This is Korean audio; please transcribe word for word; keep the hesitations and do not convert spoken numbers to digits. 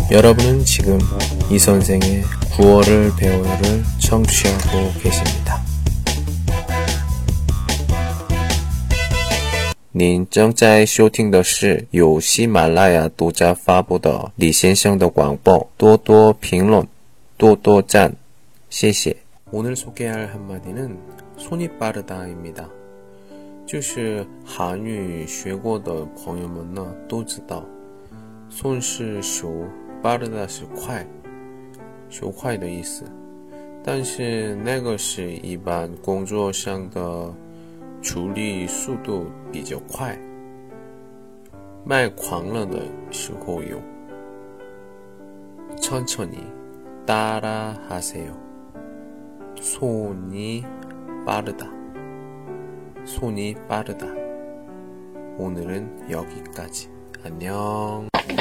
여러분은 지금 이 선생의 구월을 배워요를 청취하고 계십니다. 您正在收听的是由喜马拉雅独家发布的李先生的广播，多多评论，多多赞，谢谢。 오늘 소개할 한마디는 손이 빠르다입니다. 就是韩语学过的朋友们呢都知道，손是手，빠르다是快，手快的意思。但是那个是一般工作上的处理速度比较快，卖狂了的时候用。천천히 따라 하세요. 손이 빠르다. 손이 빠르다. 오늘은 여기까지. 안녕.